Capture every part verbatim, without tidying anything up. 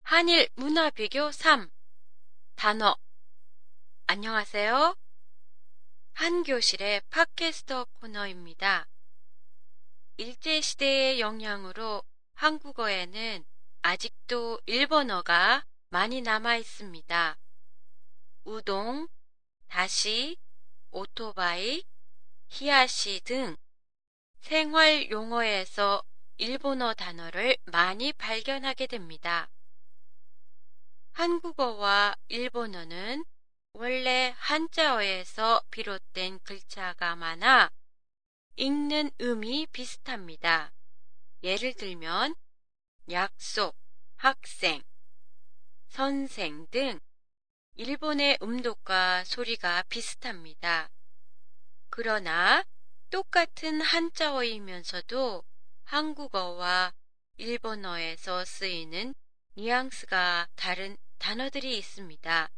한일 문화 비교 삼. 단어. 안녕하세요. 한교실의 팟캐스터 코너입니다. 일제시대의 영향으로 한국어에는 아직도 일본어가 많이 남아 있습니다. 우동, 다시, 오토바이, 히야시 등 생활 용어에서 일본어 단어를 많이 발견하게 됩니다. 한국어와 일본어는 원래 한자어에서 비롯된 글자가 많아 읽는 음이 비슷합니다. 예를 들면 약속, 학생, 선생 등 일본의 음독과 소리가 비슷합니다. 그러나 똑같은 한자어이면서도 한국어와 일본어에서 쓰이는 뉘앙스가 다른 단어들이 있습니다.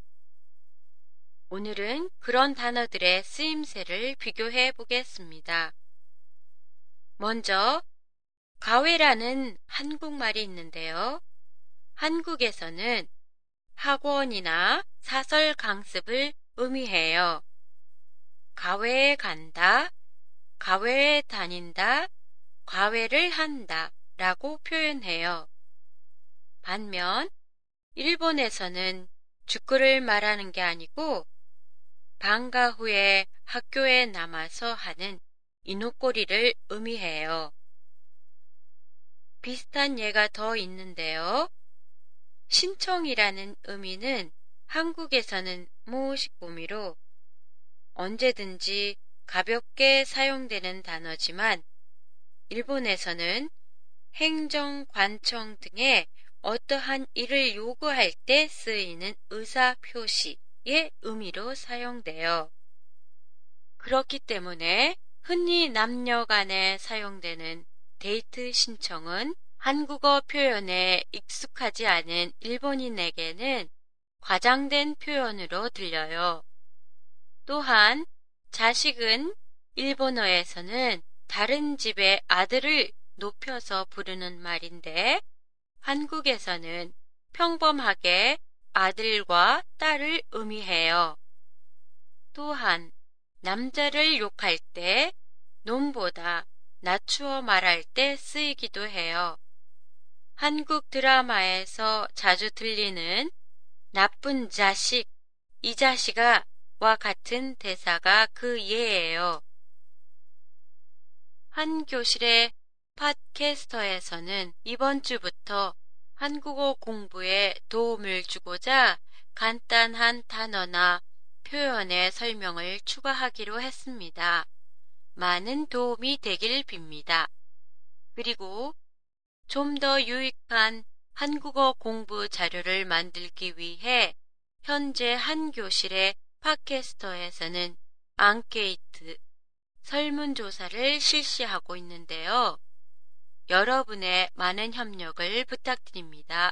오늘은 그런 단어들의 쓰임새를 비교해 보겠습니다. 먼저 가외라는 한국말이 있는데요. 한국에서는 학원이나 사설 강습을 의미해요. 가외에 간다, 가외에 다닌다, 과외를 한다 라고 표현해요. 반면 일본에서는 축구를 말하는 게 아니고 방과 후에 학교에 남아서 하는 이노꼬리를 의미해요. 비슷한 예가 더 있는데요. 신청이라는 의미는 한국에서는 모시고미로 언제든지 가볍게 사용되는 단어지만 일본에서는 행정, 관청 등의 어떠한 일을 요구할 때 쓰이는 의사 표시의 의미로 사용돼요. 그렇기 때문에 흔히 남녀 간에 사용되는 데이트 신청은 한국어 표현에 익숙하지 않은 일본인에게는 과장된 표현으로 들려요. 또한 자식은 일본어에서는 다른 집의 아들을 높여서 부르는 말인데 한국에서는 평범하게 아들과 딸을 의미해요. 또한 남자를 욕할 때 놈보다 낮추어 말할 때 쓰이기도 해요. 한국 드라마에서 자주 들리는 나쁜 자식, 이 자식아 와 같은 대사가 그 예예요. 한교실의 팟캐스터에서는 이번 주부터 한국어 공부에 도움을 주고자 간단한 단어나 표현의 설명을 추가하기로 했습니다. 많은 도움이 되길 빕니다. 그리고 좀 더 유익한 한국어 공부 자료를 만들기 위해 현재 한교실의 팟캐스터에서는 앙케이트, 설문조사를 실시하고 있는데요. 여러분의 많은 협력을 부탁드립니다.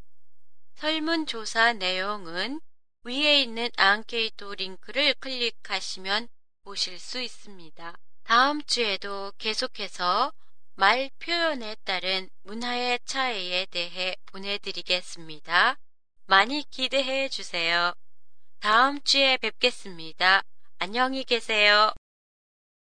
설문조사 내용은 위에 있는 앙케이트 링크를 클릭하시면 보실 수 있습니다. 다음 주에도 계속해서 말 표현에 따른 문화의 차이에 대해 보내드리겠습니다. 많이 기대해 주세요. 다음 주에 뵙겠습니다. 안녕히 계세요.